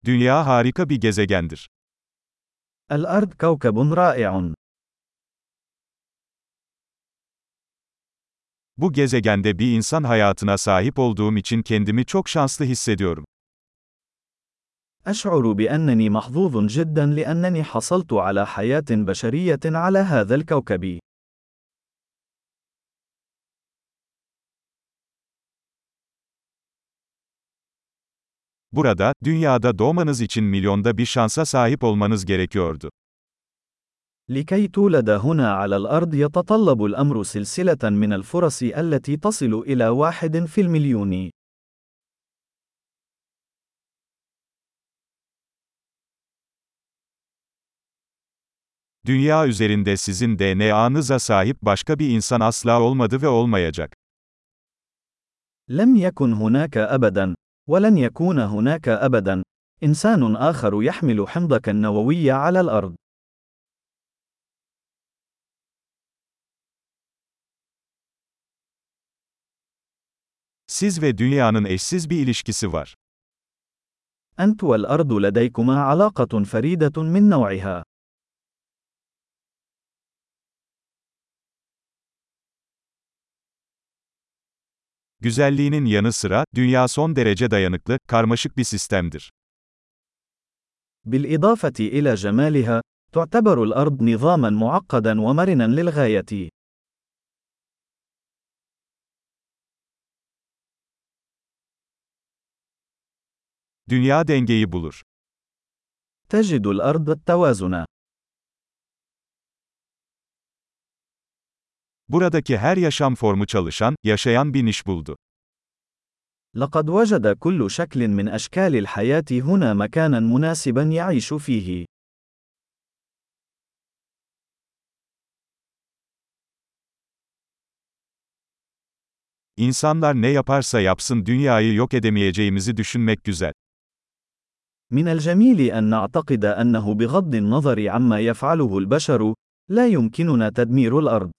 Dünya harika bir gezegendir. الأرض كوكب رائع. Bu gezegende bir insan hayatına sahip olduğum için kendimi çok şanslı hissediyorum. أشعر بأنني محظوظ جدا لأنني حصلت على حياة بشرية على هذا الكوكب. Burada, dünyada doğmanız için milyonda bir şansa sahip olmanız gerekiyordu. لكي تولد هنا على الأرض يتطلب الأمر سلسلة من الفرص التي تصل إلى 1 في المليون. Dünya üzerinde sizin DNA'nıza sahip başka bir insan asla olmadı ve olmayacak. لم يكن هناك أبدا، ولن يكون هناك أبدا، إنسان آخر يحمل حمضك النووي على الأرض. Siz ve dünyanın eşsiz bir ilişkisi var. أنت والأرض لديكما علاقة فريدة من نوعها. Güzelliğinin yanı sıra, dünya son derece dayanıklı, karmaşık bir sistemdir. بالإضافة إلى جمالها، تعتبر الأرض نظامًا معقدًا ومرنًا للغاية. Dünya dengeyi bulur. تجد الأرض التوازن. Buradaki her yaşam formu çalışan, yaşayan bir niş buldu. لقد وجد كل شكل من أشكال الحياة هنا مكانًا مناسبًا يعيش فيه. İnsanlar ne yaparsa yapsın dünyayı yok edemeyeceğimizi düşünmek güzel. من الجميل أن نعتقد أنه بغض النظر عما يفعله البشر، لا يمكننا تدمير الأرض.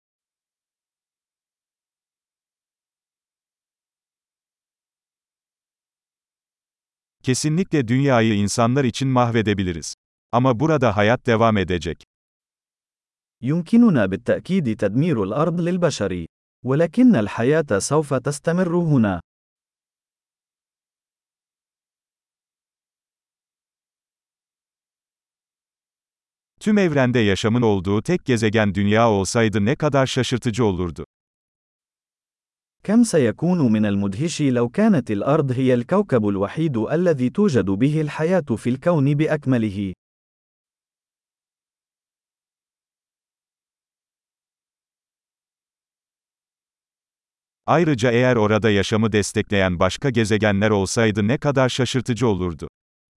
Kesinlikle dünyayı insanlar için mahvedebiliriz. Ama burada hayat devam edecek. يمكننا بالتأكيد تدمير الأرض للبشر، ولكن الحياة سوف تستمر هنا. Tüm evrende yaşamın olduğu tek gezegen dünya olsaydı ne kadar şaşırtıcı olurdu. كم سيكون من المدهش لو كانت الأرض هي الكوكب الوحيد الذي توجد به الحياة في الكون بأكمله. Ayrıca eğer orada yaşamı destekleyen başka gezegenler olsaydı ne kadar şaşırtıcı olurdu.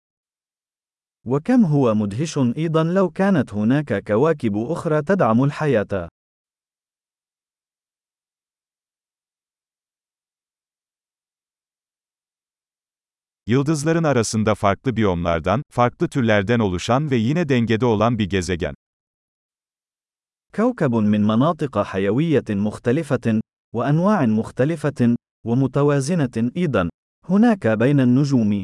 وكم هو مدهش أيضا لو كانت هناك كواكب أخرى تدعم الحياة. Yıldızların arasında farklı biyomlardan, farklı türlerden oluşan ve yine dengede olan bir gezegen. كوكب من مناطق حيوية مختلفة، وأنواع مختلفة، ومتوازنة أيضا، هناك بين النجوم.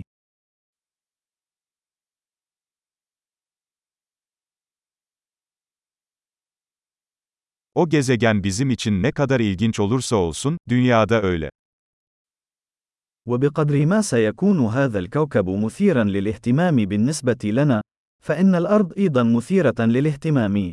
O gezegen bizim için ne kadar ilginç olursa olsun, dünyada öyle. وبقدر ما سيكون هذا الكوكب مثيرا للاهتمام بالنسبة لنا، فإن الأرض أيضا مثيرة للاهتمام.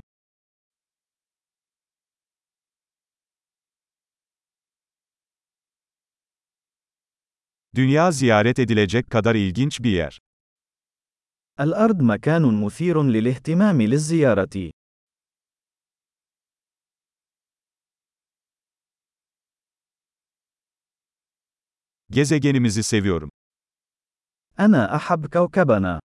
Dünya ziyaret edilecek kadar ilginç bir yer. الأرض مكان مثير للاهتمام للزيارة. Gezegenimizi seviyorum. أنا أحب كوكبنا.